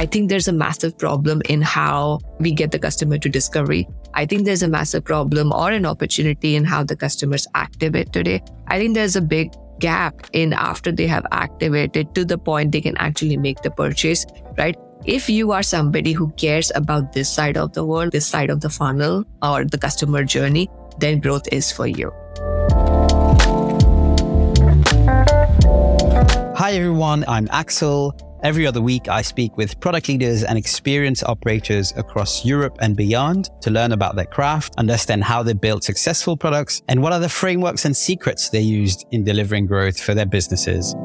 I think there's a massive problem in how we get the customer to discovery. I think there's a massive problem or an opportunity in how the customers activate today. I think there's a big gap in after they have activated to the point they can actually make the purchase, right? If you are somebody who cares about this side of the world, this side of the funnel or the customer journey, then growth is for you. Hi everyone, I'm Axel. Every other week, I speak with product leaders and experienced operators across Europe and beyond to learn about their craft, understand how they build successful products, and what are the frameworks and secrets they used in delivering growth for their businesses.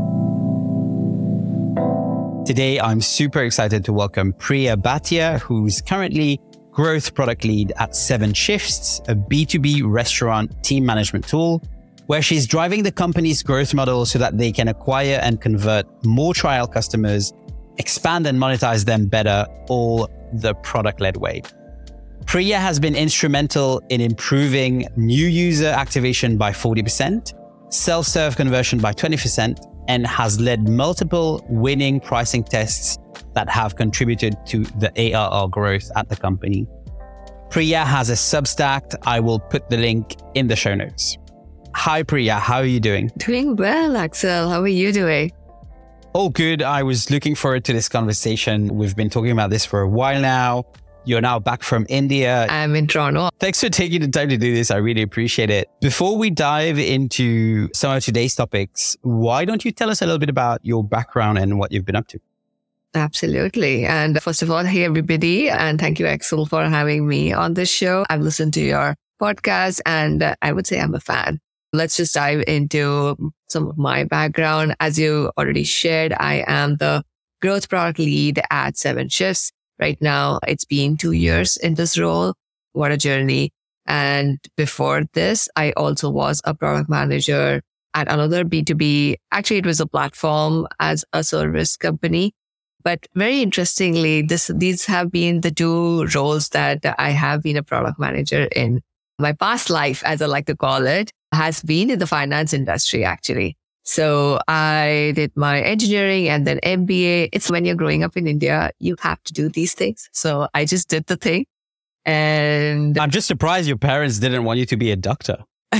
Today, I'm super excited to welcome Priya Bhatia, who's currently growth product lead at 7Shifts, a B2B restaurant team management tool, where she's driving the company's growth model so that they can acquire and convert more trial customers, expand and monetize them better, all the product-led way. Priya has been instrumental in improving new user activation by 40%, self-serve conversion by 20%, and has led multiple winning pricing tests that have contributed to the ARR growth at the company. Priya has a Substack. I will put the link in the show notes. Hi, Priya. How are you doing? Doing well, Axel. How are you doing? Oh, good. I was looking forward to this conversation. We've been talking about this for a while now. You're now back from India. I'm in Toronto. Thanks for taking the time to do this. I really appreciate it. Before we dive into some of today's topics, why don't you tell us a little bit about your background and what you've been up to? Absolutely. And first of all, hey, everybody. And thank you, Axel, for having me on this show. I've listened to your podcast and I would say I'm a fan. Let's just dive into some of my background. As you already shared, I am the growth product lead at 7Shifts. Right now, it's been 2 years in this role. What a journey. And before this, I also was a product manager at another B2B. Actually, it was a platform as a service company. But very interestingly, these have been the two roles that I have been a product manager in. My past life, as I like to call it, has been in the finance industry, actually. So I did my engineering and then MBA. It's when you're growing up in India, you have to do these things. So I just did the thing. And I'm just surprised your parents didn't want you to be a doctor.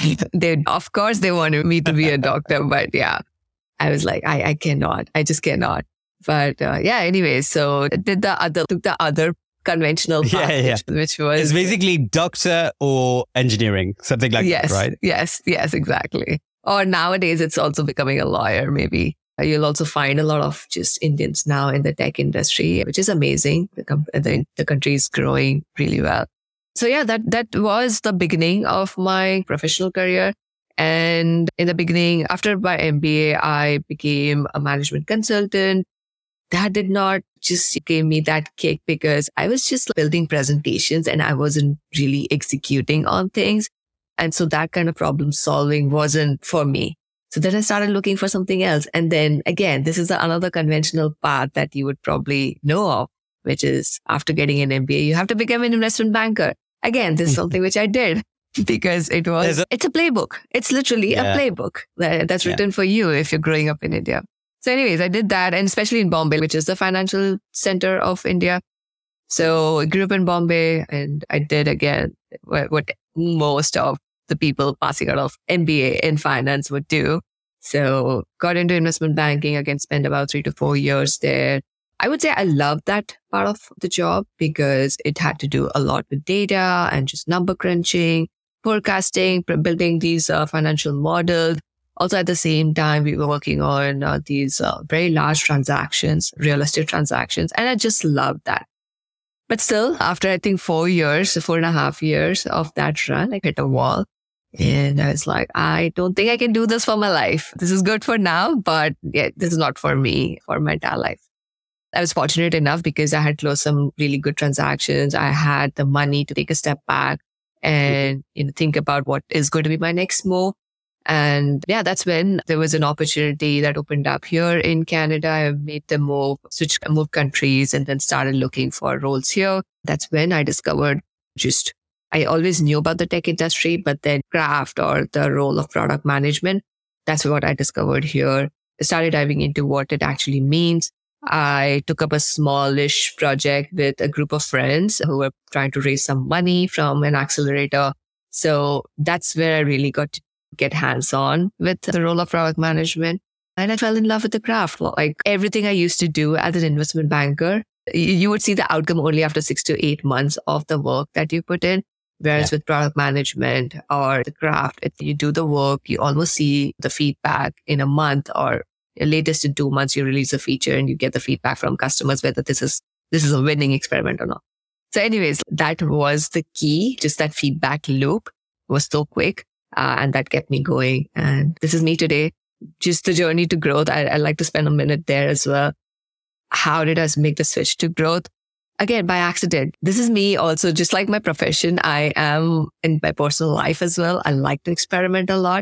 Of course, they wanted me to be a doctor. But yeah, I was like, I cannot. I just cannot. But anyway, so took the other conventional path, which was... It's basically doctor or engineering, something like that, right? Yes, exactly. Or nowadays, it's also becoming a lawyer, maybe. You'll also find a lot of just Indians now in the tech industry, which is amazing. The country is growing really well. So yeah, that was the beginning of my professional career. And in the beginning, after my MBA, I became a management consultant. That did not just give me that kick because I was just building presentations and I wasn't really executing on things. And so that kind of problem solving wasn't for me. So then I started looking for something else. And then again, this is another conventional path that you would probably know of, which is after getting an MBA, you have to become an investment banker. Again, this is something which I did because it's a playbook. It's literally a playbook that's written for you if you're growing up in India. So anyways, I did that, and especially in Bombay, which is the financial center of India. So I grew up in Bombay and I did again what most of the people passing out of MBA in finance would do. So got into investment banking, again, spent about 3 to 4 years there. I would say I loved that part of the job because it had to do a lot with data and just number crunching, forecasting, building these financial models. Also, at the same time, we were working on these very large transactions, real estate transactions, and I just loved that. But still, after I think 4.5 years of that run, I hit a wall. And I was like, I don't think I can do this for my life. This is good for now, but yeah, this is not for me, for my entire life. I was fortunate enough because I had closed some really good transactions. I had the money to take a step back and think about what is going to be my next move. And yeah, that's when there was an opportunity that opened up here in Canada. I made the move, moved countries and then started looking for roles here. That's when I discovered I always knew about the tech industry, but then craft or the role of product management, that's what I discovered here. I started diving into what it actually means. I took up a smallish project with a group of friends who were trying to raise some money from an accelerator. So that's where I really got to get hands-on with the role of product management. And I fell in love with the craft. Like everything I used to do as an investment banker, you would see the outcome only after 6 to 8 months of the work that you put in. Whereas with product management or the craft, if you do the work, you almost see the feedback in a month, or latest in 2 months, you release a feature and you get the feedback from customers whether this is a winning experiment or not. So anyways, that was the key. Just that feedback loop was so quick and that kept me going. And this is me today. Just the journey to growth. I'd like to spend a minute there as well. How did I make the switch to growth? Again, by accident. This is me also, just like my profession. I am in my personal life as well. I like to experiment a lot.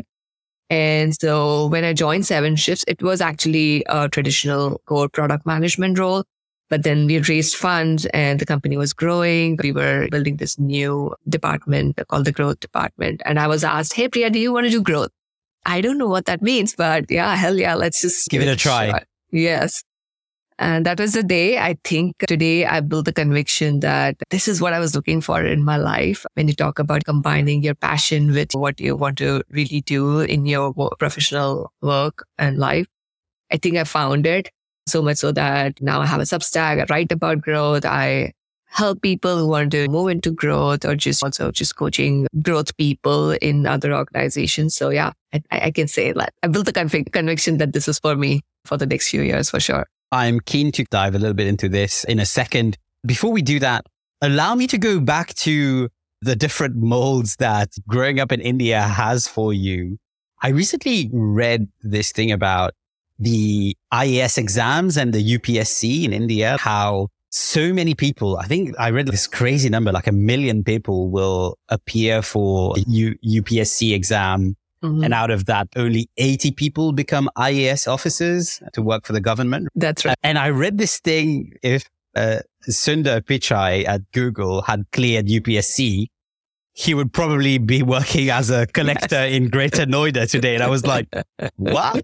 And so when I joined 7Shifts, it was actually a traditional core product management role. But then we raised funds and the company was growing. We were building this new department called the growth department. And I was asked, hey, Priya, do you want to do growth? I don't know what that means, but yeah, hell yeah, let's just give it a try. Shot. Yes. And that was the day. I think today I built the conviction that this is what I was looking for in my life. When you talk about combining your passion with what you want to really do in your professional work and life, I think I found it. So much so that now I have a Substack. I write about growth. I help people who want to move into growth, or just coaching growth people in other organizations. So yeah, I can say that I built the conviction that this is for me for the next few years for sure. I'm keen to dive a little bit into this in a second. Before we do that, allow me to go back to the different molds that growing up in India has for you. I recently read this thing about the IAS exams and the UPSC in India, how so many people, I think I read this crazy number, like 1 million people will appear for a UPSC exam. Mm-hmm. And out of that, only 80 people become IAS officers to work for the government. That's right. And I read this thing, if Sundar Pichai at Google had cleared UPSC, he would probably be working as a collector in Greater Noida today. And I was like, what?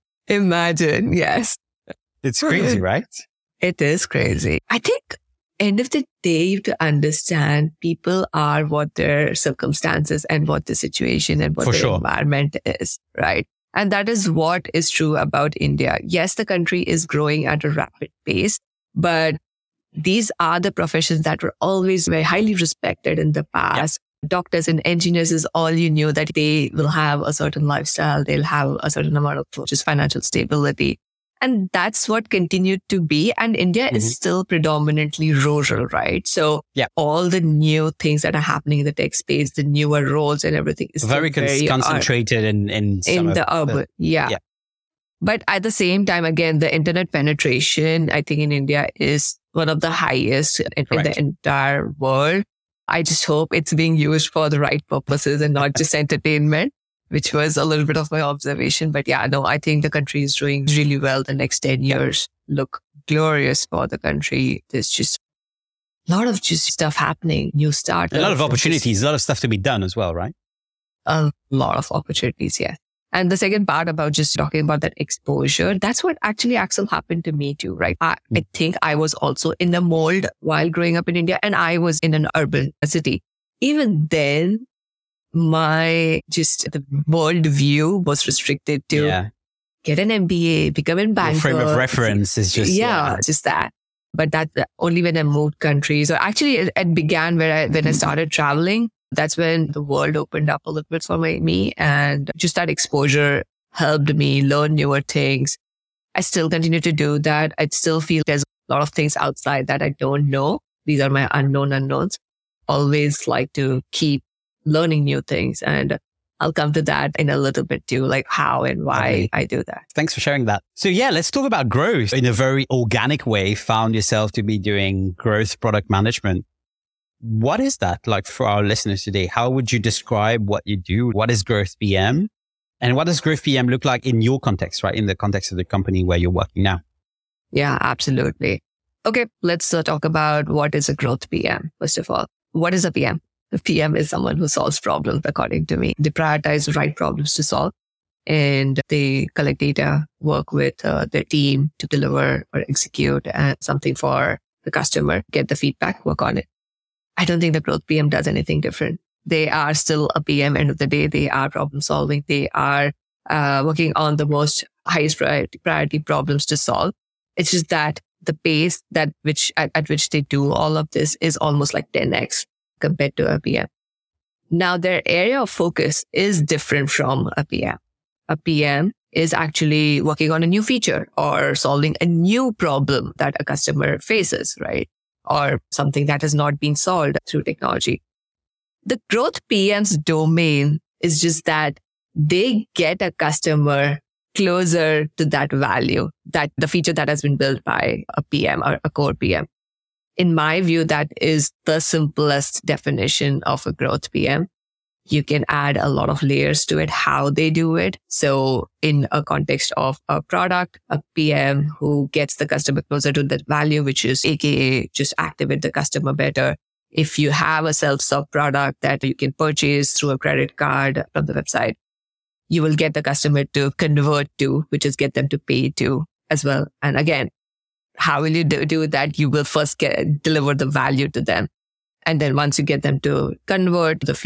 Imagine, yes. It's crazy, right? It is crazy. I think end of the day, you have to understand people are what their circumstances and what the situation and what the environment is, right? And that is what is true about India. Yes, the country is growing at a rapid pace, but these are the professions that were always very highly respected in the past. Yep. Doctors and engineers is all you knew, that they will have a certain lifestyle. They'll have a certain amount of just financial stability. And that's what continued to be. And India is still predominantly rural, right? So all the new things that are happening in the tech space, the newer roles and everything is very concentrated in the urban. Yeah. But at the same time, again, the internet penetration, I think in India is one of the highest in the entire world. I just hope it's being used for the right purposes and not just entertainment, which was a little bit of my observation. But yeah, no, I think the country is doing really well. The next 10 years look glorious for the country. There's just a lot of just stuff happening, new startups. A lot of opportunities, a lot of stuff to be done as well, right? A lot of opportunities, yeah. And the second part about just talking about that exposure, that's what actually Axel happened to me too, right? I think I was also in a mold while growing up in India, and I was in an urban city. Even then, the world view was restricted to get an MBA, become a banker. Your frame of reference is just... just that. But that's only when I moved countries. Or actually, it began when I started traveling. That's when the world opened up a little bit for me. And just that exposure helped me learn newer things. I still continue to do that. I still feel there's a lot of things outside that I don't know. These are my unknown unknowns. Always like to keep learning new things. And I'll come to that in a little bit too, like how and why I do that. Thanks for sharing that. So yeah, let's talk about growth. In a very organic way, found yourself to be doing growth product management. What is that like for our listeners today? How would you describe what you do? What is Growth PM? And what does Growth PM look like in your context, right? In the context of the company where you're working now? Yeah, absolutely. Okay, let's talk about what is a Growth PM. First of all, what is a PM? The PM is someone who solves problems, according to me. They prioritize the right problems to solve. and they collect data, work with their team to deliver or execute something for the customer, get the feedback, work on it. I don't think the growth PM does anything different. They are still a PM. End of the day, they are problem solving. They are working on the most highest priority problems to solve. It's just that the pace at which they do all of this is almost like 10x compared to a PM. Now, their area of focus is different from a PM. A PM is actually working on a new feature or solving a new problem that a customer faces, right? Or something that has not been solved through technology. The growth PM's domain is just that they get a customer closer to that value, that the feature that has been built by a PM or a core PM. In my view, that is the simplest definition of a growth PM. You can add a lot of layers to it, how they do it. So in a context of a product, a PM who gets the customer closer to that value, which is AKA just activate the customer better. If you have a self-serve product that you can purchase through a credit card from the website, you will get the customer to convert to, which is get them to pay to as well. And again, how will you do that? You will first deliver the value to them. And then once you get them to convert, the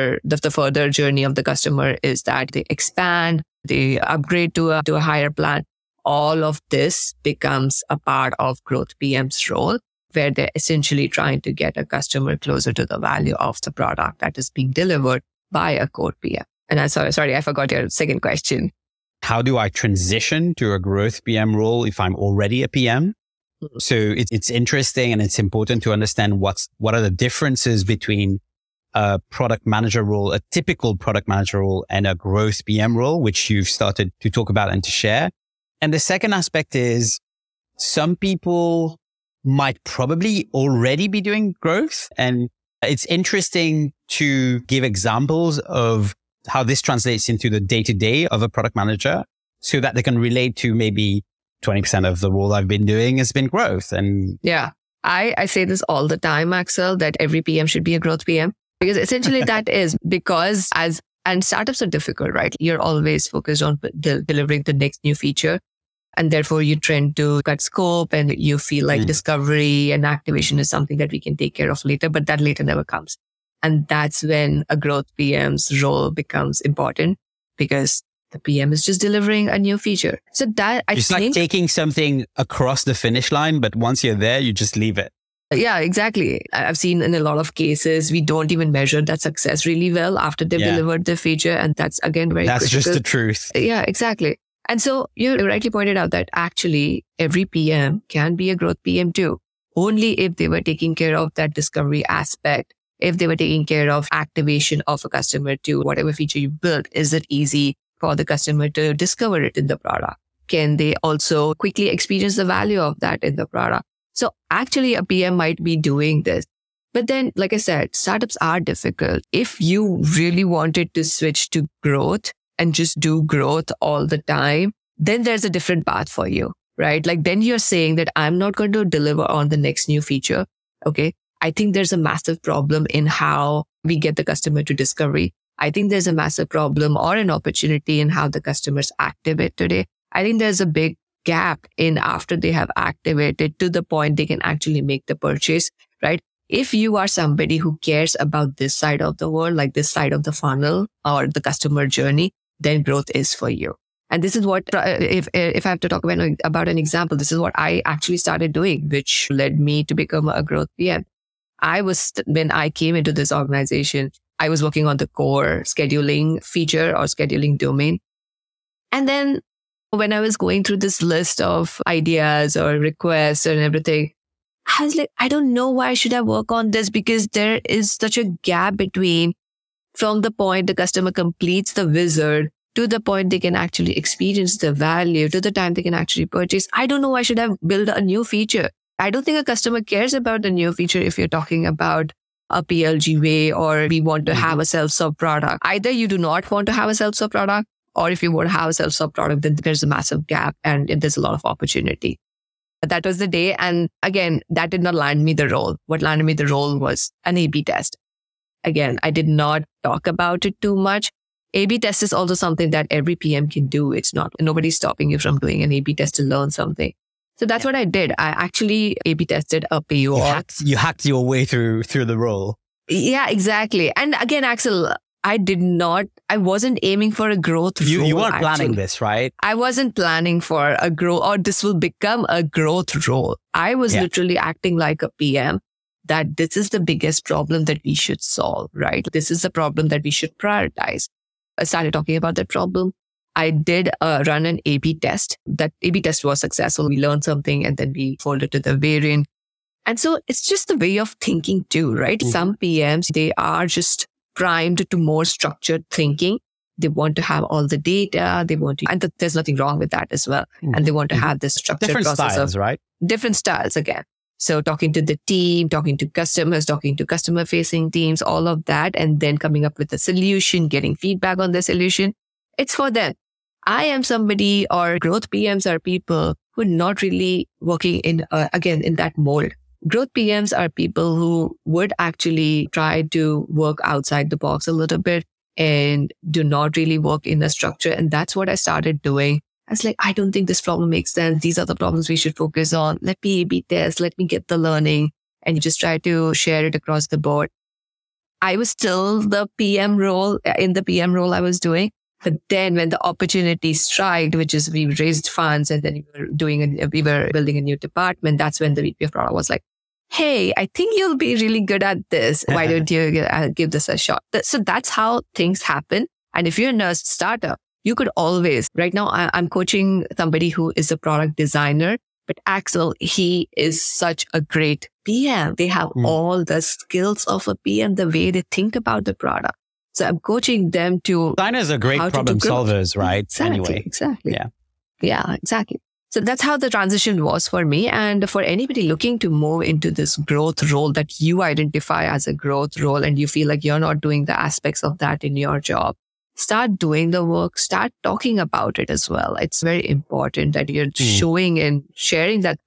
further journey of the customer is that they expand, they upgrade to a higher plan. All of this becomes a part of growth PM's role, where they're essentially trying to get a customer closer to the value of the product that is being delivered by a core PM. And I'm sorry, I forgot your second question. How do I transition to a growth PM role if I'm already a PM? So it's interesting and it's important to understand what are the differences between a product manager role, a typical product manager role, and a growth PM role, which you've started to talk about and to share. And the second aspect is some people might probably already be doing growth. And it's interesting to give examples of how this translates into the day-to-day of a product manager so that they can relate to maybe 20% of the role I've been doing has been growth. And yeah, I say this all the time, Axel, that every PM should be a growth PM, because essentially that is because and startups are difficult, right? You're always focused on delivering the next new feature. And therefore you trend to cut scope and you feel like discovery and activation is something that we can take care of later, but that later never comes. And that's when a growth PM's role becomes important, because the PM is just delivering a new feature. So that it's like taking something across the finish line, but once you're there, you just leave it. Yeah, exactly. I've seen in a lot of cases, we don't even measure that success really well after they've delivered the feature. And that's again, that's critical. Just the truth. Yeah, exactly. And so you rightly pointed out that actually every PM can be a growth PM too, only if they were taking care of that discovery aspect. If they were taking care of activation of a customer to whatever feature you built, is it easy for the customer to discover it in the product? Can they also quickly experience the value of that in the product? So actually a PM might be doing this. But then, like I said, startups are difficult. If you really wanted to switch to growth and just do growth all the time, then there's a different path for you, right? Like then you're saying that I'm not going to deliver on the next new feature. Okay. I think there's a massive problem in how we get the customer to discovery. I think there's a massive problem or an opportunity in how the customers activate today. I think there's a big gap in after they have activated to the point they can actually make the purchase, right? If you are somebody who cares about this side of the world, like this side of the funnel or the customer journey, then growth is for you. And this is what, if I have to talk about an example, this is what I actually started doing, which led me to become a growth PM. When I came into this organization, I was working on the core scheduling feature or scheduling domain. And then when I was going through this list of ideas or requests and everything, I was like, I don't know why should I work on this, because there is such a gap between from the point the customer completes the wizard to the point they can actually experience the value to the time they can actually purchase. I don't know why should I build a new feature. I don't think a customer cares about the new feature if you're talking about a PLG way or we want to have a self-serve product. Either you do not want to have a self-serve product, or if you want to have a self-serve product, then there's a massive gap and there's a lot of opportunity. But that was the day. And again, that did not land me the role. What landed me the role was an A/B test. Again, I did not talk about it too much. A/B test is also something that every PM can do. It's not, nobody's stopping you from doing an A/B test to learn something. So that's what I did. I actually A/B tested a payor. You hacked your way through the role. Yeah, exactly. And again, Axel, I wasn't aiming for a growth role. You weren't planning this, right? I wasn't planning for a growth, or this will become a growth role. I was literally acting like a PM, that this is the biggest problem that we should solve, right? This is the problem that we should prioritize. I started talking about that problem. I did run an A/B test. That A/B test was successful. We learned something and then we folded to the variant. And so it's just the way of thinking too, right? Mm-hmm. Some PMs, they are just primed to more structured thinking. They want to have all the data. They want to, and there's nothing wrong with that as well. Mm-hmm. And they want to have this structured different process styles, right? Different styles again. So talking to the team, talking to customers, talking to customer facing teams, all of that, and then coming up with a solution, getting feedback on the solution. It's for them. I am somebody, or growth PMs are people who are not really working in that mold. Growth PMs are people who would actually try to work outside the box a little bit and do not really work in a structure. And that's what I started doing. I was like, I don't think this problem makes sense. These are the problems we should focus on. Let me A/B test. Let me get the learning. And you just try to share it across the board. I was still in the PM role I was doing. But then when the opportunity struck, which is we raised funds and then we were building a new department, that's when the VP of product was like, hey, I think you'll be really good at this. Why don't you give this a shot? So that's how things happen. And if you're in a startup, you could always, right now I'm coaching somebody who is a product designer, but Axel, he is such a great PM. They have all the skills of a PM, the way they think about the product. So I'm coaching them to... Designers are great problem solvers, right? Exactly. Yeah, exactly. So that's how the transition was for me. And for anybody looking to move into this growth role that you identify as a growth role and you feel like you're not doing the aspects of that in your job, start doing the work, start talking about it as well. It's very important that you're showing and sharing that.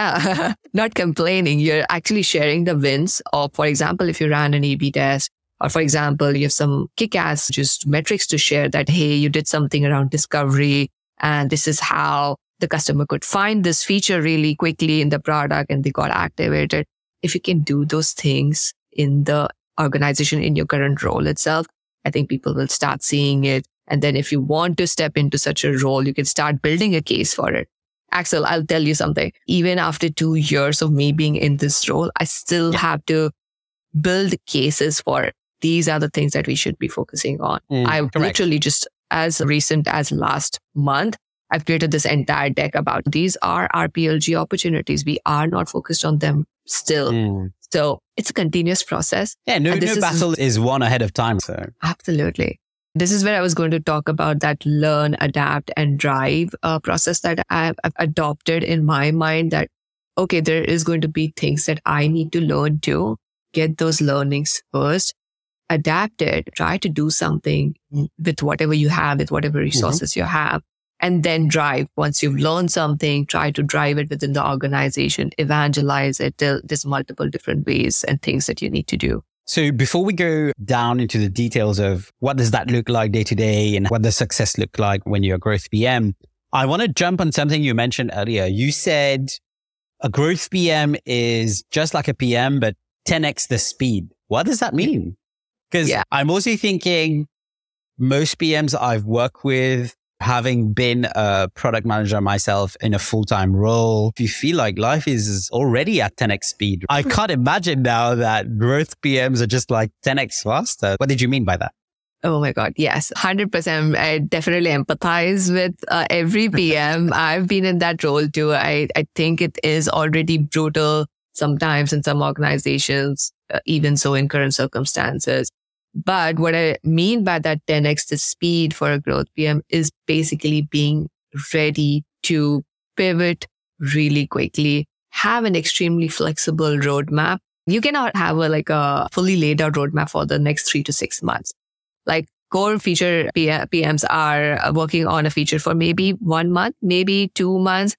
Not complaining. You're actually sharing the wins of, for example, if you ran an A/B test, or for example, you have some kick-ass just metrics to share that, hey, you did something around discovery and this is how the customer could find this feature really quickly in the product and they got activated. If you can do those things in the organization, in your current role itself, I think people will start seeing it. And then if you want to step into such a role, you can start building a case for it. Axel, I'll tell you something. Even after 2 years of me being in this role, I still have to build cases for it. These are the things that we should be focusing on. Literally just as recent as last month, I've created this entire deck about these are our PLG opportunities. We are not focused on them still. So it's a continuous process. Yeah, no battle is won ahead of time. So absolutely. This is where I was going to talk about that learn, adapt, and drive process that I've adopted in my mind that, okay, there is going to be things that I need to learn too. Get those learnings first. Adapt it, try to do something with whatever you have, with whatever resources you have, and then drive. Once you've learned something, try to drive it within the organization, evangelize it. There's multiple different ways and things that you need to do. So before we go down into the details of what does that look like day to day and what does success look like when you're a growth PM, I want to jump on something you mentioned earlier. You said a growth PM is just like a PM, but 10x the speed. What does that mean? Because I'm also thinking most PMs I've worked with, having been a product manager myself in a full-time role, you feel like life is already at 10x speed. I can't imagine now that growth PMs are just like 10x faster. What did you mean by that? Oh my God. Yes, 100%. I definitely empathize with every PM. I've been in that role too. I think it is already brutal sometimes in some organizations, even so in current circumstances. But what I mean by that 10x the speed for a growth PM is basically being ready to pivot really quickly, have an extremely flexible roadmap. You cannot have a fully laid out roadmap for the next 3 to 6 months. Like core feature PMs are working on a feature for maybe 1 month, maybe 2 months.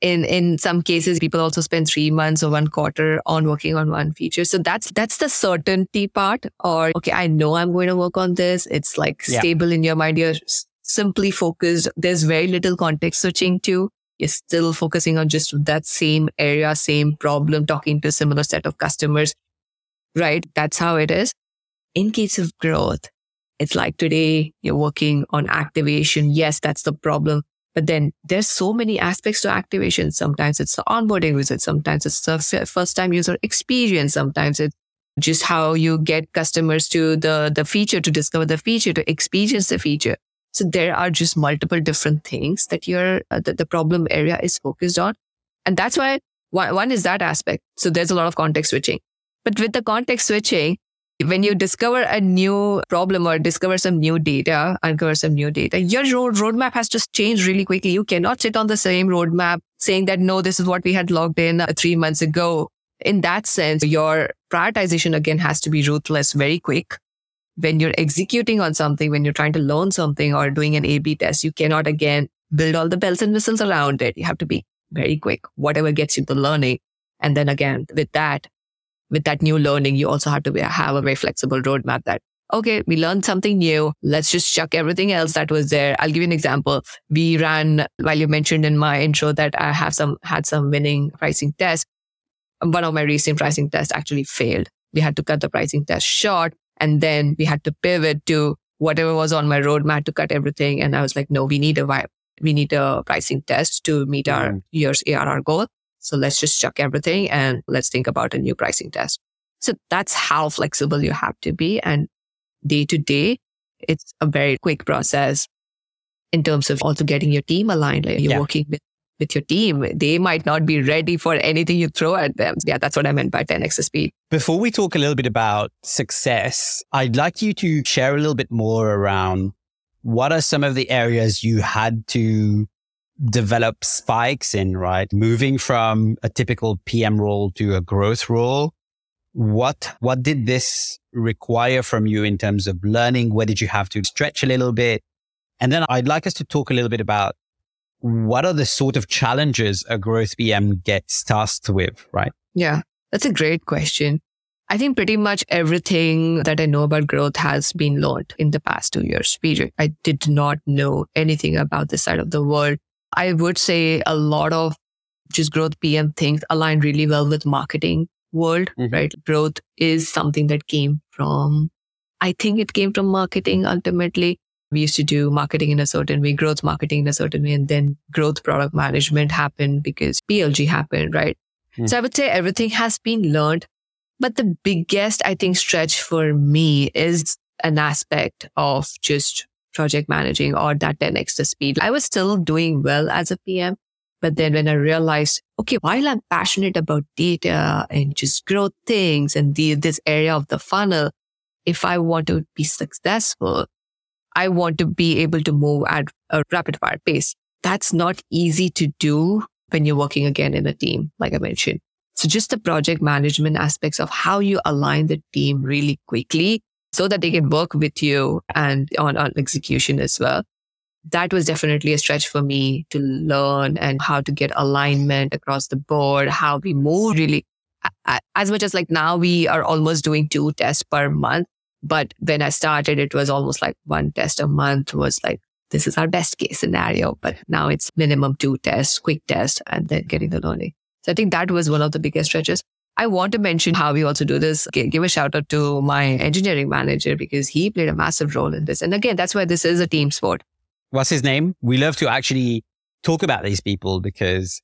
In some cases, people also spend 3 months or 1 quarter on working on one feature. So that's the certainty part. Or, okay, I know I'm going to work on this. It's like stable in your mind. You're simply focused. There's very little context switching too. You're still focusing on just that same area, same problem, talking to a similar set of customers, right? That's how it is. In case of growth, it's like today you're working on activation. Yes, that's the problem. But then there's so many aspects to activation. Sometimes it's the onboarding visit. Sometimes it's the first time user experience. Sometimes it's just how you get customers to the feature, to discover the feature, to experience the feature. So there are just multiple different things that the problem area is focused on. And that's why one is that aspect. So there's a lot of context switching. But with the context switching, when you discover a new problem or discover some new data, uncover some new data, your roadmap has to change really quickly. You cannot sit on the same roadmap saying that, no, this is what we had logged in 3 months ago. In that sense, your prioritization again has to be ruthless, very quick. When you're executing on something, when you're trying to learn something or doing an A/B test, you cannot again build all the bells and whistles around it. You have to be very quick, whatever gets you the learning. And then again, with that new learning, you also have to have a very flexible roadmap that, okay, we learned something new. Let's just chuck everything else that was there. I'll give you an example. We ran, while you mentioned in my intro that I had some winning pricing tests. One of my recent pricing tests actually failed. We had to cut the pricing test short. And then we had to pivot to whatever was on my roadmap to cut everything. And I was like, no, we need a pricing test to meet our year's ARR goal. So let's just chuck everything and let's think about a new pricing test. So that's how flexible you have to be. And day to day, it's a very quick process in terms of also getting your team aligned. Like you're working with your team. They might not be ready for anything you throw at them. Yeah, that's what I meant by 10x the speed. Before we talk a little bit about success, I'd like you to share a little bit more around what are some of the areas you had to develop spikes in, right? Moving from a typical PM role to a growth role. What did this require from you in terms of learning? Where did you have to stretch a little bit? And then I'd like us to talk a little bit about what are the sort of challenges a growth PM gets tasked with, right? Yeah, that's a great question. I think pretty much everything that I know about growth has been learned in the past 2 years period. I did not know anything about this side of the world. I would say a lot of just growth PM things align really well with marketing world, right? Growth is something that I think it came from marketing ultimately. We used to do marketing in a certain way, growth marketing in a certain way, and then growth product management happened because PLG happened, right? So I would say everything has been learned. But the biggest, I think, stretch for me is an aspect of just project managing or that 10x the speed. I was still doing well as a PM. But then when I realized, okay, while I'm passionate about data and just growth things and this area of the funnel, if I want to be successful, I want to be able to move at a rapid fire pace. That's not easy to do when you're working again in a team, like I mentioned. So just the project management aspects of how you align the team really quickly so that they can work with you and on execution as well. That was definitely a stretch for me to learn and how to get alignment across the board, how we move really as much as like now we are almost doing 2 tests per month. But when I started, it was almost like 1 test a month was like, this is our best case scenario. But now it's minimum 2 tests, quick test, and then getting the learning. So I think that was one of the biggest stretches. I want to mention how we also do this. Give a shout out to my engineering manager because he played a massive role in this. And again, that's why this is a team sport. What's his name? We love to actually talk about these people because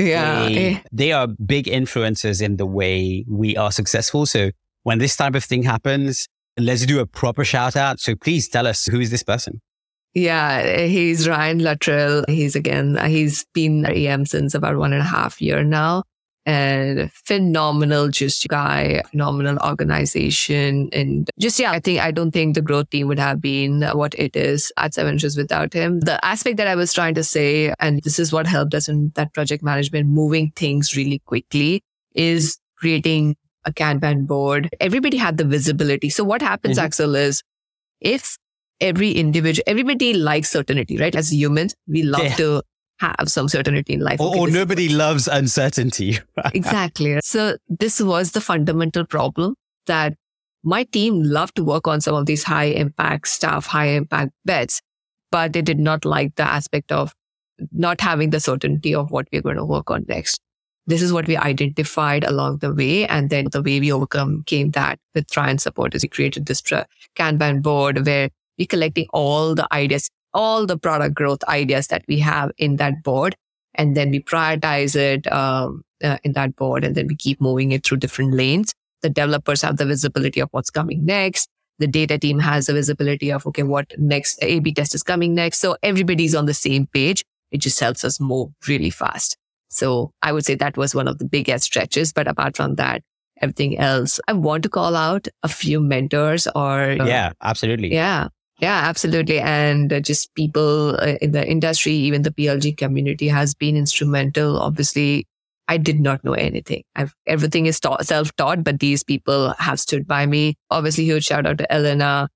they are big influencers in the way we are successful. So when this type of thing happens, let's do a proper shout out. So please tell us, who is this person? Yeah, he's Ryan Luttrell. He's been EM since about 1.5 years now. And phenomenal just guy, phenomenal organization. And just, I don't think the growth team would have been what it is at 7shifts without him. The aspect that I was trying to say, and this is what helped us in that project management, moving things really quickly, is creating a Kanban board. Everybody had the visibility. So what happens, Axel, is if everybody likes certainty, right? As humans, we love to have some certainty in life. Or nobody loves uncertainty. Exactly. So this was the fundamental problem, that my team loved to work on some of these high impact stuff, high impact bets, but they did not like the aspect of not having the certainty of what we're going to work on next. This is what we identified along the way. And then the way we overcame that with Trian Support is we created this Kanban board where we're collecting all the ideas, all the product growth ideas that we have in that board. And then we prioritize it in that board. And then we keep moving it through different lanes. The developers have the visibility of what's coming next. The data team has the visibility of, okay, what next A/B test is coming next. So everybody's on the same page. It just helps us move really fast. So I would say that was one of the biggest stretches. But apart from that, everything else, I want to call out a few mentors or... Yeah, absolutely. Yeah, absolutely. And just people in the industry, even the PLG community has been instrumental. Obviously, I did not know anything. Everything is self-taught, but these people have stood by me. Obviously, huge shout out to Elena.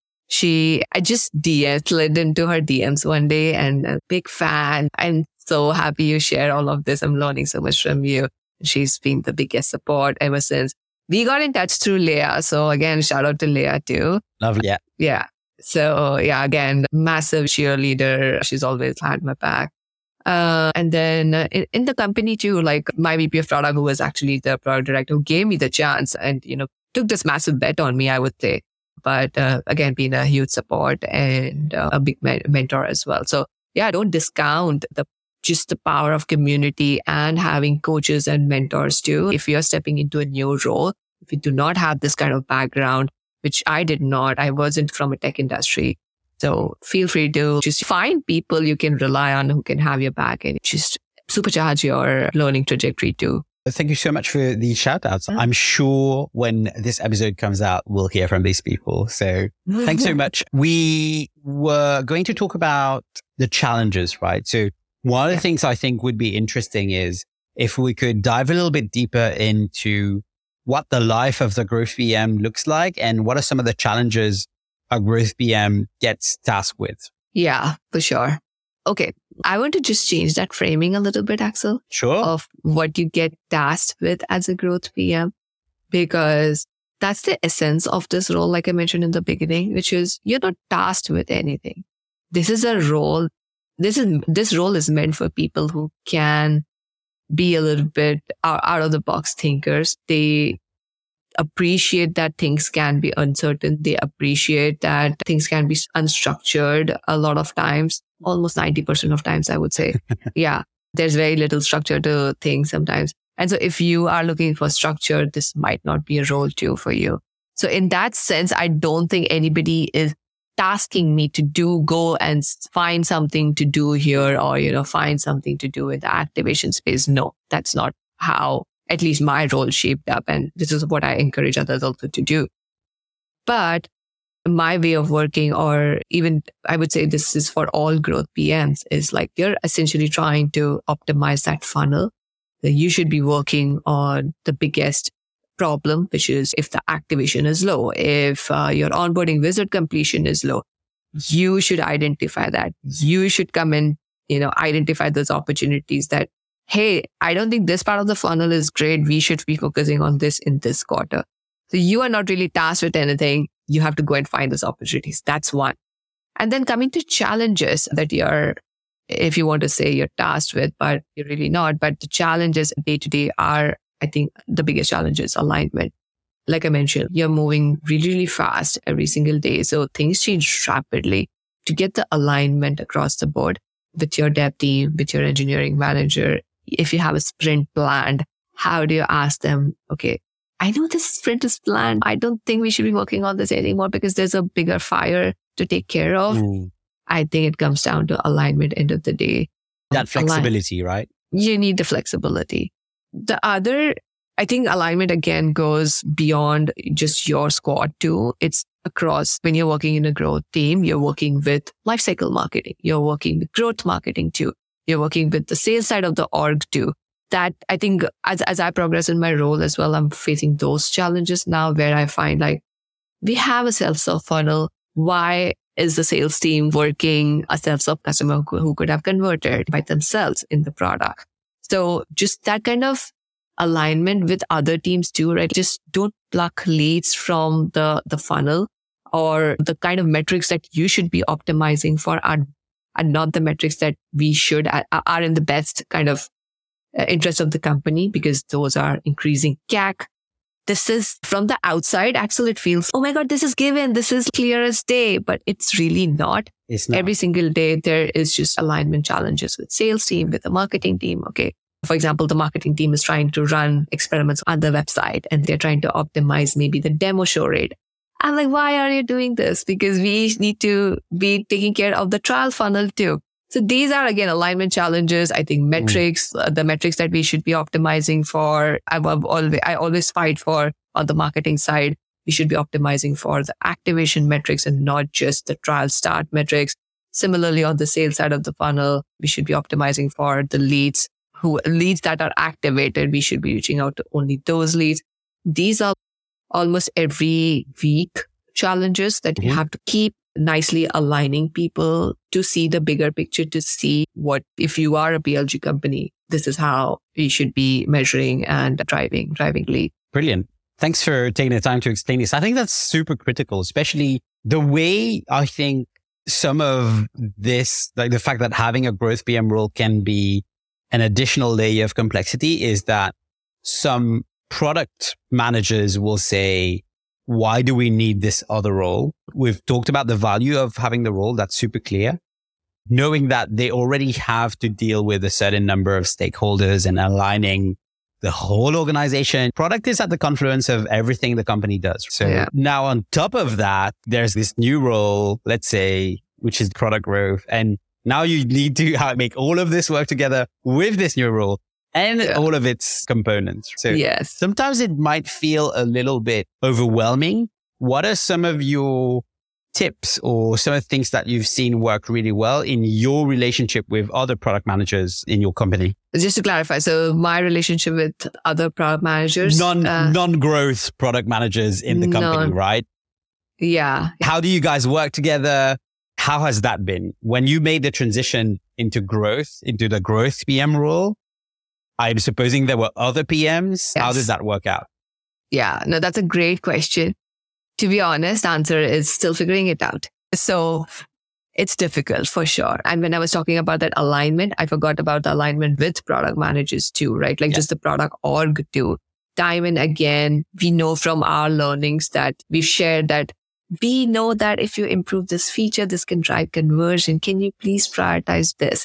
I just slid into her DMs one day and a big fan. I'm so happy you share all of this. I'm learning so much from you. She's been the biggest support ever since. We got in touch through Leah. So again, shout out to Leah too. Lovely. Yeah. So again, massive cheerleader. She's always had my back. And then in the company too, like my VP of product, who was actually the product director, who gave me the chance and, took this massive bet on me, I would say. But again, being a huge support and a big mentor as well. So don't discount just the power of community and having coaches and mentors too. If you're stepping into a new role, if you do not have this kind of background, which I did not, I wasn't from a tech industry. So feel free to just find people you can rely on who can have your back and just supercharge your learning trajectory too. Thank you so much for the shout outs. I'm sure when this episode comes out, we'll hear from these people. So thanks so much. We were going to talk about the challenges, right? So one of the things I think would be interesting is if we could dive a little bit deeper into what the life of the growth PM looks like and what are some of the challenges a growth PM gets tasked with. Yeah, for sure. Okay. I want to just change that framing a little bit, Axel. Sure. Of what you get tasked with as a growth PM, because that's the essence of this role, like I mentioned in the beginning, which is you're not tasked with anything. This is a role. This role is meant for people who can be a little bit out of the box thinkers. They appreciate that things can be uncertain. They appreciate that things can be unstructured a lot of times, almost 90% of times, I would say. There's very little structure to things sometimes. And so if you are looking for structure, this might not be a role too for you. So in that sense, I don't think anybody is tasking me to go and find something to do here or, find something to do in the activation space. No, that's not how at least my role shaped up. And this is what I encourage others also to do. But my way of working, or even I would say this is for all growth PMs, is like you're essentially trying to optimize that funnel. That you should be working on the biggest problem, which is if the activation is low, if your onboarding visit completion is low, you should identify that. You should come and, identify those opportunities that, hey, I don't think this part of the funnel is great. We should be focusing on this in this quarter. So you are not really tasked with anything. You have to go and find those opportunities. That's one. And then coming to challenges that if you want to say you're tasked with, but you're really not. But the challenges day to day are, I think, the biggest challenge is alignment. Like I mentioned, you're moving really, really fast every single day. So things change rapidly. To get the alignment across the board with your dev team, with your engineering manager, if you have a sprint planned, how do you ask them, okay, I know this sprint is planned. I don't think we should be working on this anymore because there's a bigger fire to take care of. I think it comes down to alignment end of the day. That flexibility, right? You need the flexibility. The other, I think alignment again goes beyond just your squad too. It's across when you're working in a growth team, you're working with lifecycle marketing. You're working with growth marketing too. You're working with the sales side of the org too. That I think as I progress in my role as well, I'm facing those challenges now where I find like we have a self-serve funnel. Why Is the sales team working a self-serve customer who could have converted by themselves in the product? So just that kind of alignment with other teams too, right? Just don't pluck leads from the funnel, or the kind of metrics that you should be optimizing for are not the metrics that we should are in the best kind of interest of the company, because those are increasing CAC. This is from the outside, Axel, it feels, oh my God, this is given. This is clear as day, but it's really not. It's not. Every single day, there is just alignment challenges with sales team, with the marketing team. Okay. For example, the marketing team is trying to run experiments on the website and they're trying to optimize maybe the demo show rate. I'm like, why are you doing this? Because we need to be taking care of the trial funnel too. So these are, again, alignment challenges. I think metrics, the metrics that we should be optimizing for, I always fight for on the marketing side. We should be optimizing for the activation metrics and not just the trial start metrics. Similarly, on the sales side of the funnel, we should be optimizing for the leads that are activated. We should be reaching out to only those leads. These are almost every week challenges that you have to keep nicely aligning people to see the bigger picture, to see what, if you are a PLG company, this is how we should be measuring and driving lead. Brilliant. Thanks for taking the time to explain this. I think that's super critical, especially the way I think some of this, like the fact that having a growth PM role can be an additional layer of complexity, is that some product managers will say, why do we need this other role? We've talked about the value of having the role. That's super clear. Knowing that they already have to deal with a certain number of stakeholders and aligning the whole organization. Product is at the confluence of everything the company does. So now on top of that, there's this new role, let's say, which is product growth. And now you need to make all of this work together with this new role and all of its components. So sometimes it might feel a little bit overwhelming. What are some of your tips or some of the things that you've seen work really well in your relationship with other product managers in your company? Just to clarify, so my relationship with other product managers, non-growth product managers in the company, right? Yeah. How do you guys work together? How has that been? When you made the transition into the growth PM role, I'm supposing there were other PMs. Yes. How did that work out? Yeah, no, that's a great question. To be honest, answer is still figuring it out. So it's difficult for sure. And when I was talking about that alignment, I forgot about the alignment with product managers too, right? Like just the product org too. Time and again, we know from our learnings that we've shared that we know that if you improve this feature, this can drive conversion. Can you please prioritize this?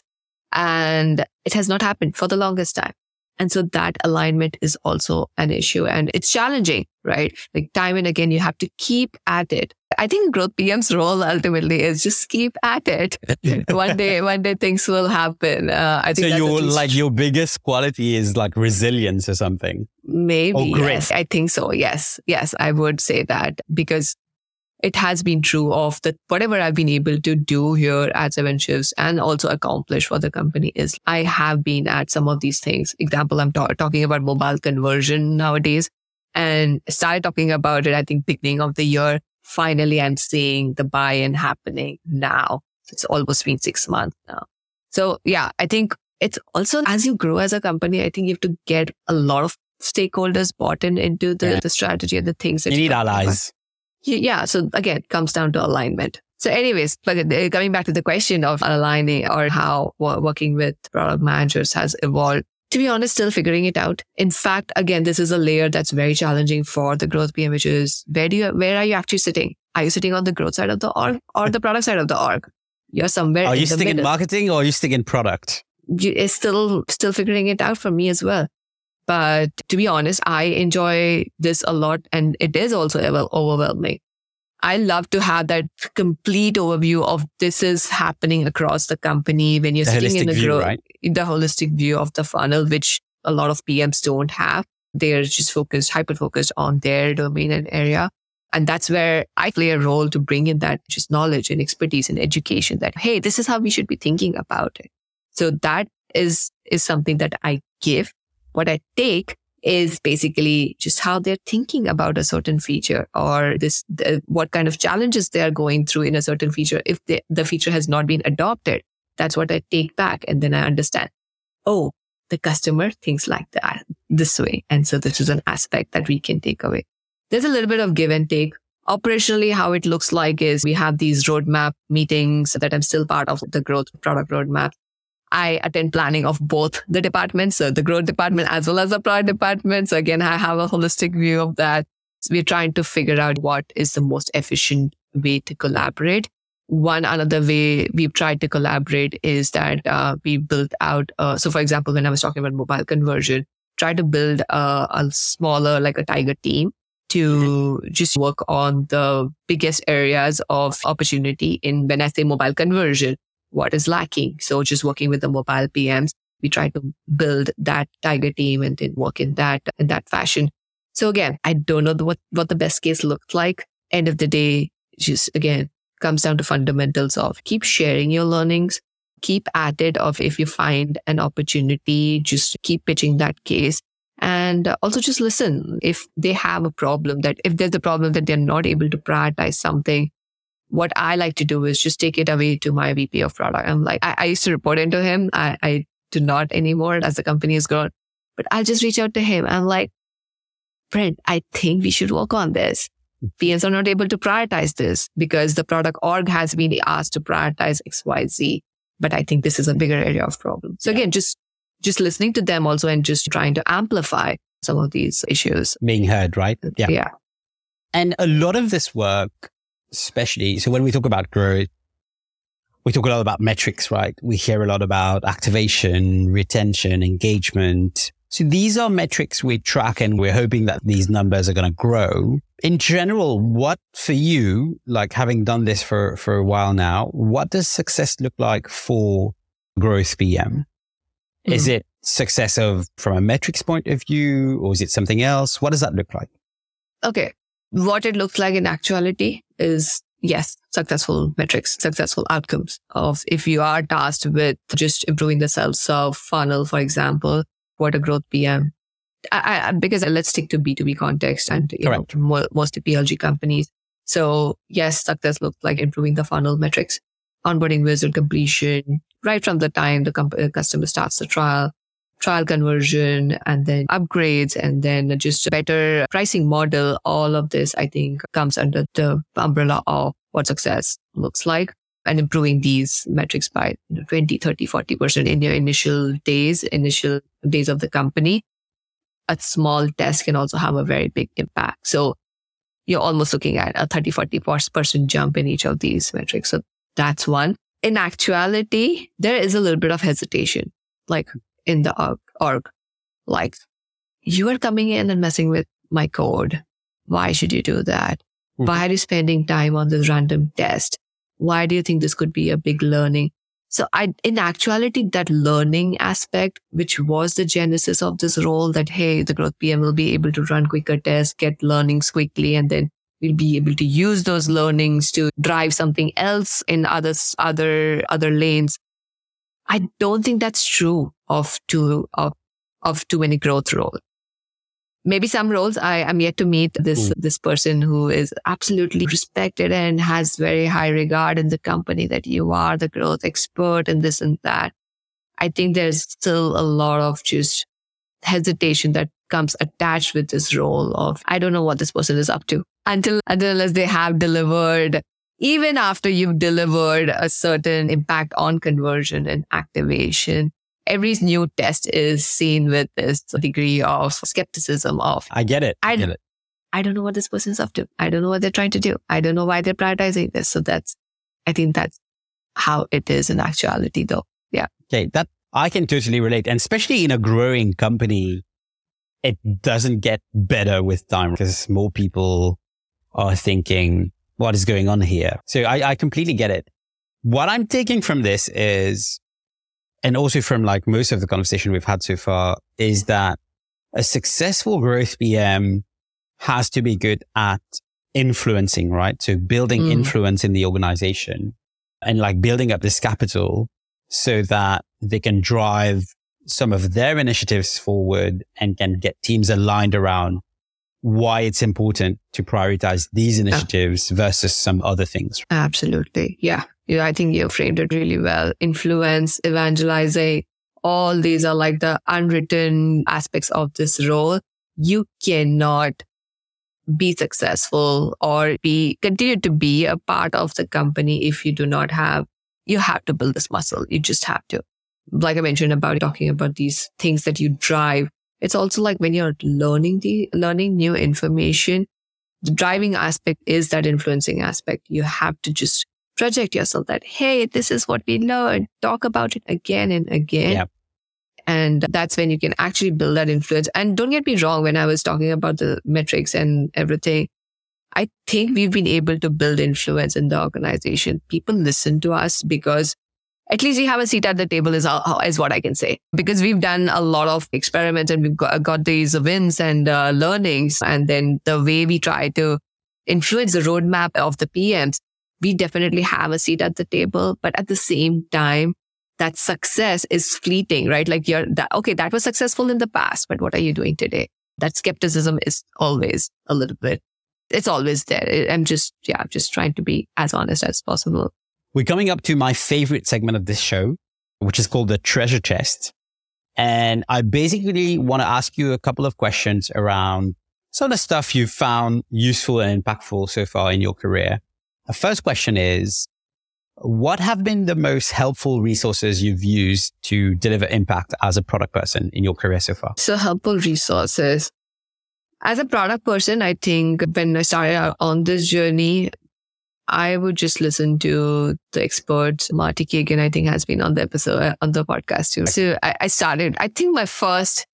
And it has not happened for the longest time. And so that alignment is also an issue and it's challenging, right? Like time and again, you have to keep at it. I think growth PM's role ultimately is just keep at it. One day things will happen. I think so your biggest quality is like resilience or something. Maybe. Or grit. Yes, I think so. Yes, I would say that because it has been true of whatever I've been able to do here at 7Shifts and also accomplish for the company is I have been at some of these things. Example, I'm talking about mobile conversion nowadays and started talking about it, I think, beginning of the year. Finally, I'm seeing the buy-in happening now. It's almost been 6 months now. So yeah, I think it's also as you grow as a company, I think you have to get a lot of stakeholders bought into the strategy and the things that you need allies. Yeah. So again, it comes down to alignment. So anyways, but coming back to the question of aligning or how working with product managers has evolved, to be honest, still figuring it out. In fact, again, this is a layer that's very challenging for the growth PM, which is where are you actually sitting? Are you sitting on the growth side of the org or the product side of the org? You're somewhere. Are you sitting in marketing or are you sitting in product? It's still figuring it out for me as well. But to be honest, I enjoy this a lot and it is also overwhelming. I love to have that complete overview of this is happening across the company when you're sitting in the holistic view of the funnel, which a lot of PMs don't have. They're just hyper-focused on their domain and area. And that's where I play a role to bring in that just knowledge and expertise and education that, hey, this is how we should be thinking about it. So that is something that I give. What I take is basically just how they're thinking about a certain feature or what kind of challenges they are going through in a certain feature. If the feature has not been adopted, that's what I take back. And then I understand, oh, the customer thinks like that this way. And so this is an aspect that we can take away. There's a little bit of give and take. Operationally, how it looks like is we have these roadmap meetings that I'm still part of, the growth product roadmap. I attend planning of both the departments, so the growth department as well as the product department. So again, I have a holistic view of that. So we're trying to figure out what is the most efficient way to collaborate. One another way we've tried to collaborate is that we built out. So for example, when I was talking about mobile conversion, try to build a smaller, like a tiger team to just work on the biggest areas of opportunity in, when I say mobile conversion, what is lacking. So just working with the mobile PMs, we try to build that tiger team and then work in that fashion. So again, I don't know what the best case looks like. End of the day, just again, comes down to fundamentals of keep sharing your learnings, keep at it of if you find an opportunity, just keep pitching that case. And also just listen. If they have a problem, that if there's a problem that they're not able to prioritize something, what I like to do is just take it away to my VP of product. I'm like, I used to report into him. I do not anymore as the company has grown, but I'll just reach out to him. I'm like, Brent, I think we should work on this. PMs are not able to prioritize this because the product org has been asked to prioritize XYZ. But I think this is a bigger area of problem. So again, just listening to them also and just trying to amplify some of these issues. Being heard, right? Yeah. And a lot of this work, especially, so when we talk about growth, we talk a lot about metrics, right? We hear a lot about activation, retention, engagement. So these are metrics we track and we're hoping that these numbers are going to grow. In general, what for you, like having done this for a while now, what does success look like for Growth PM? Is it success from a metrics point of view, or is it something else? What does that look like? Okay. What it looks like in actuality is, yes, successful metrics, successful outcomes of if you are tasked with just improving the self-serve funnel, for example, what a growth PM. Because let's stick to B2B context and most PLG companies. So yes, success looks like improving the funnel metrics, onboarding wizard completion, right from the time the customer starts the trial conversion, and then upgrades, and then just a better pricing model. All of this, I think, comes under the umbrella of what success looks like, and improving these metrics by 20, 30, 40% in your initial days of the company. A small test can also have a very big impact. So you're almost looking at a 30, 40% jump in each of these metrics. So that's one. In actuality, there is a little bit of hesitation, like in the org, like you are coming in and messing with my code. Why should you do that? Why are you spending time on this random test? Why do you think this could be a big learning? So in actuality, that learning aspect, which was the genesis of this role, that, hey, the growth PM will be able to run quicker tests, get learnings quickly, and then we'll be able to use those learnings to drive something else in other lanes. I don't think that's true of too many growth roles. Maybe some roles I'm yet to meet this person who is absolutely respected and has very high regard in the company, that you are the growth expert and this and that. I think there's still a lot of just hesitation that comes attached with this role of, I don't know what this person is up to unless they have delivered. Even after you've delivered a certain impact on conversion and activation, every new test is seen with this degree of skepticism of, I get it. I don't know what this person's up to. I don't know what they're trying to do. I don't know why they're prioritizing this. So I think that's how it is in actuality though. Yeah. Okay. That I can totally relate. And especially in a growing company, it doesn't get better with time because more people are thinking, what is going on here? So I completely get it. What I'm taking from this is, and also from like most of the conversation we've had so far, is that a successful growth PM has to be good at influencing, right? So building influence in the organization and like building up this capital so that they can drive some of their initiatives forward and can get teams aligned around why it's important to prioritize these initiatives versus some other things. Absolutely. Yeah. I think you framed it really well. Influence, evangelizing, all these are like the unwritten aspects of this role. You cannot be successful or continue to be a part of the company if you do not have, you have to build this muscle. You just have to. Like I mentioned about talking about these things that you drive. It's also like when you're learning new information, the driving aspect is that influencing aspect. You have to just project yourself that, hey, this is what we learned. Talk about it again and again. Yeah. And that's when you can actually build that influence. And don't get me wrong, when I was talking about the metrics and everything, I think we've been able to build influence in the organization. People listen to us because at least we have a seat at the table is what I can say. Because we've done a lot of experiments and we've got these wins and learnings. And then the way we try to influence the roadmap of the PMs, we definitely have a seat at the table. But at the same time, that success is fleeting, right? Like that was successful in the past, but what are you doing today? That skepticism is always a little bit, it's always there. I'm just trying to be as honest as possible. We're coming up to my favorite segment of this show, which is called the treasure chest. And I basically want to ask you a couple of questions around some of the stuff you've found useful and impactful so far in your career. The first question is, what have been the most helpful resources you've used to deliver impact as a product person in your career so far? So helpful resources. As a product person, I think when I started out on this journey, I would just listen to the experts. Marty Kagan, I think, has been on the episode, on the podcast too. So I started, I think my first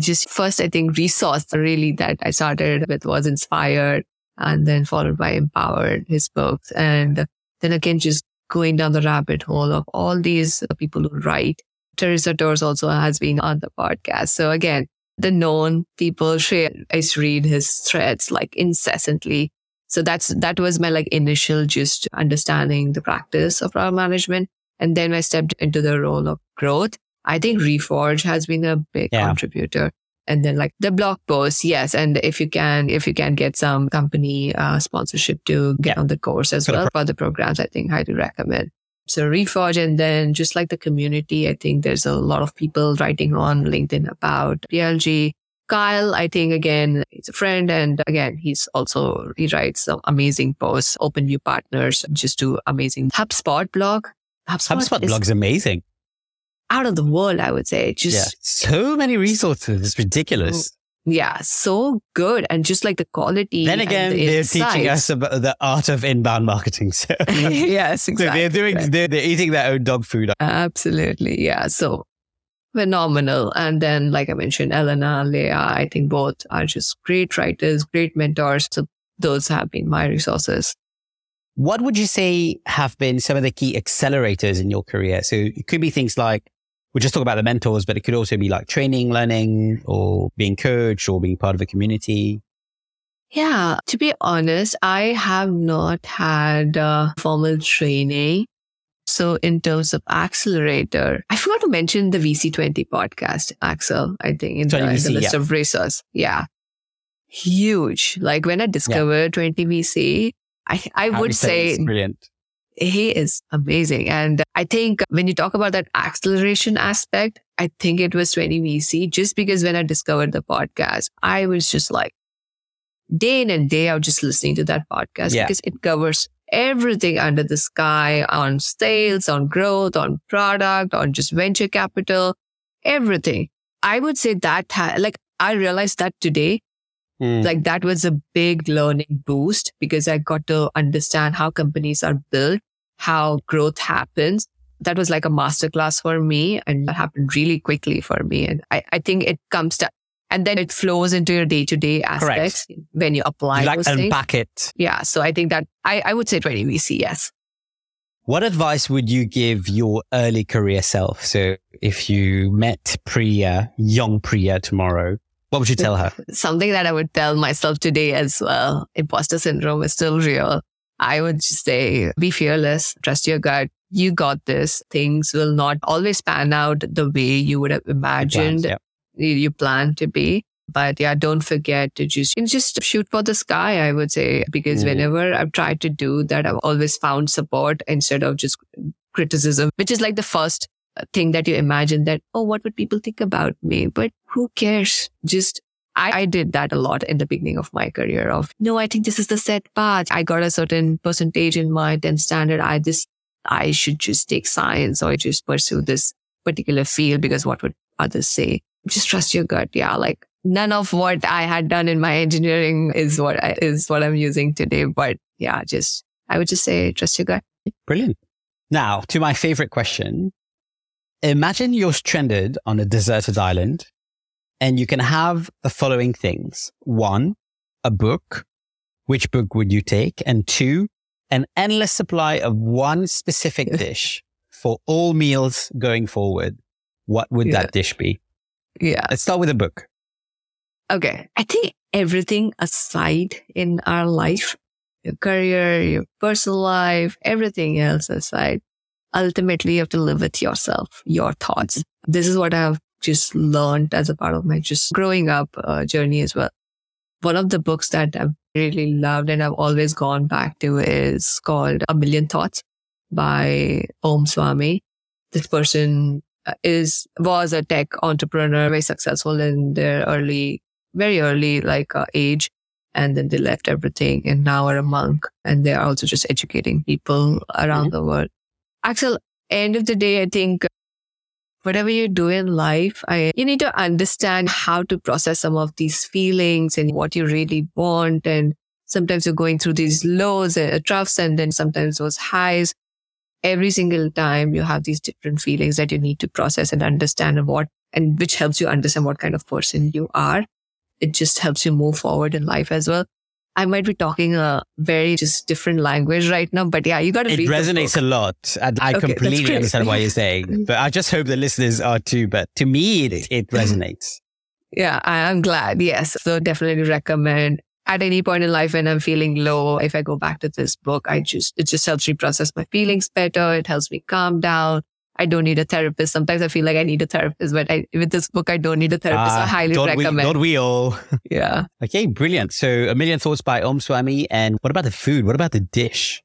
resource really that I started with was Inspired, and then followed by Empowered, his books. And then again, just going down the rabbit hole of all these people who write. Teresa Torres also has been on the podcast. So again, the known people, I used to read his threads like incessantly. So that was my like initial just understanding the practice of product management. And then I stepped into the role of growth. I think Reforge has been a big contributor. And then like the blog posts, yes. And if you can get some company sponsorship to get on the course as well for the programs, I think highly recommend. So Reforge, and then just like the community, I think there's a lot of people writing on LinkedIn about PLG. Kyle, I think again, he's a friend. And again, he writes some amazing posts, open new partners, just do amazing HubSpot blog. HubSpot blog's amazing. Out of the world, I would say. So many resources. It's ridiculous. Yeah, so good. And just like the quality. Then again, they're teaching us about the art of inbound marketing. So yes, exactly. So they're eating their own dog food. Absolutely. Yeah. So phenomenal. And then, like I mentioned, Elena, Leah, I think both are just great writers, great mentors. So those have been my resources. What would you say have been some of the key accelerators in your career? So it could be things like, we just talk about the mentors, but it could also be like training, learning, or being coached, or being part of a community. Yeah, to be honest, I have not had formal training. So in terms of accelerator, I forgot to mention the VC20 podcast, Axel, I think, in the list of resources. Yeah. Huge. Like when I discovered 20 VC, I would say brilliant. He is amazing. And I think when you talk about that acceleration aspect, I think it was 20 VC, just because when I discovered the podcast, I was just like day in and day out just listening to that podcast because it covers everything under the sky on sales, on growth, on product, on just venture capital, everything. I would say that I realized that today. Like that was a big learning boost because I got to understand how companies are built, how growth happens. That was like a masterclass for me, and that happened really quickly for me. And I think it comes to, and then it flows into your day-to-day aspects when you apply those things. Unpack it. Yeah. So I think that I would say 20 VC, yes. What advice would you give your early career self? So if you met Priya, young Priya tomorrow, what would you tell her? Something that I would tell myself today as well. Imposter syndrome is still real. I would just say be fearless, trust your gut. You got this. Things will not always pan out the way you would have imagined you plan to be. But yeah, don't forget to just shoot for the sky, I would say, because whenever I've tried to do that, I've always found support instead of just criticism, which is like the first thing that you imagine that, oh, what would people think about me? But who cares? I did that a lot in the beginning of my career of, no, I think this is the set path. I got a certain percentage in my 10 standard. I should just take science or just pursue this particular field because what would others say? Just trust your gut. Yeah. Like none of what I had done in my engineering is what I'm using today. But yeah, I would just say, trust your gut. Brilliant. Now to my favorite question. Imagine you're stranded on a deserted island and you can have the following things. 1, a book. Which book would you take? And 2, an endless supply of one specific dish for all meals going forward. What would that dish be? Yeah. Let's start with a book. Okay. I think everything aside in our life, your career, your personal life, everything else aside, ultimately you have to live with yourself, your thoughts. This is what I've just learned as a part of my just growing up journey as well. One of the books that I've really loved and I've always gone back to is called A Million Thoughts by Om Swami. This person was a tech entrepreneur, very successful in their very early age. And then they left everything and now are a monk. And they are also just educating people around the world. Axel, end of the day, I think whatever you do in life, you need to understand how to process some of these feelings and what you really want. And sometimes you're going through these lows and troughs and then sometimes those highs. Every single time you have these different feelings that you need to process and understand and which helps you understand what kind of person you are. It just helps you move forward in life as well. I might be talking a very just different language right now, but yeah, you got to read it. It resonates a lot. And I completely understand what you're saying, but I just hope the listeners are too. But to me, it resonates. Yeah, I'm glad. Yes. So definitely recommend at any point in life when I'm feeling low, if I go back to this book, it just helps me process my feelings better. It helps me calm down. I don't need a therapist. Sometimes I feel like I need a therapist, but with this book, I don't need a therapist. I highly recommend. Don't we all? Yeah. Okay, brilliant. So A Million Thoughts by Om Swami. And what about the food? What about the dish?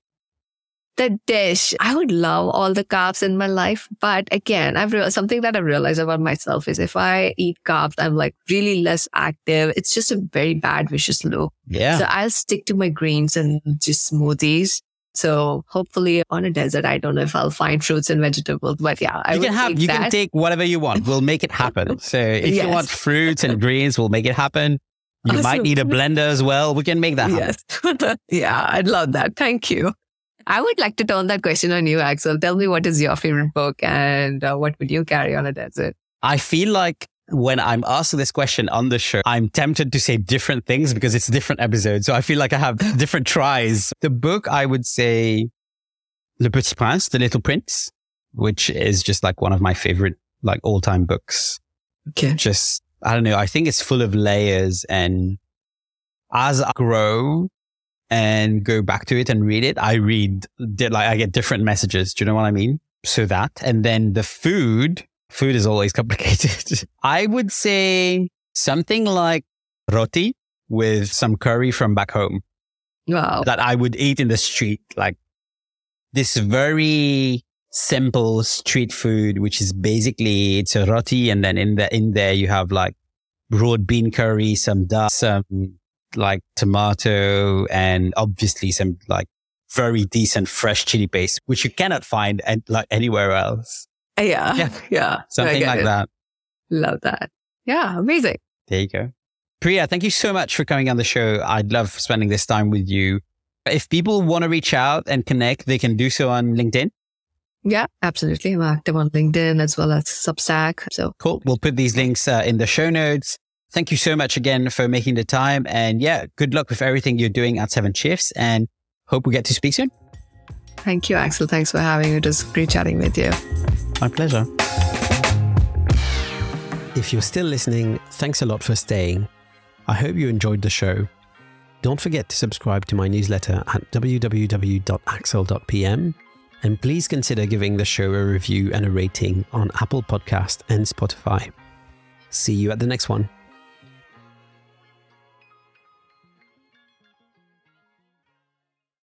The dish. I would love all the carbs in my life. But again, something that I've realized about myself is if I eat carbs, I'm like really less active. It's just a very bad, vicious loop. Yeah. So I'll stick to my greens and just smoothies. So hopefully on a desert, I don't know if I'll find fruits and vegetables, but yeah, you can take whatever you want. We'll make it happen. So if you want fruits and greens, we'll make it happen. You might need a blender as well. We can make that happen. Yes. Yeah, I'd love that. Thank you. I would like to turn that question on you, Axel. Tell me what is your favorite book and what would you carry on a desert? I feel like when I'm asked this question on the show, I'm tempted to say different things because it's different episodes. So I feel like I have different tries. The book, I would say Le Petit Prince, The Little Prince, which is just like one of my favorite all-time books. Okay. Just, I don't know. I think it's full of layers. And as I grow and go back to it and read it, I get different messages. Do you know what I mean? So that, and then the food is always complicated. I would say something like roti with some curry from back home. Wow. That I would eat in the street. Like this very simple street food, which is basically it's a roti. And then in there you have like broad bean curry, some dal, some like tomato, and obviously some like very decent fresh chili paste, which you cannot find anywhere else. Yeah. Something like that. Love that. Yeah. Amazing. There you go. Priya, thank you so much for coming on the show. I'd love spending this time with you. If people want to reach out and connect, they can do so on LinkedIn. Yeah, absolutely. I'm active on LinkedIn as well as Substack. So cool. We'll put these links in the show notes. Thank you so much again for making the time. And yeah, good luck with everything you're doing at 7 Shifts and hope we get to speak soon. Thank you, Axel. Thanks for having me. It was great chatting with you. My pleasure. If you're still listening, thanks a lot for staying. I hope you enjoyed the show. Don't forget to subscribe to my newsletter at www.axel.pm, and please consider giving the show a review and a rating on Apple Podcast and Spotify. See you at the next one.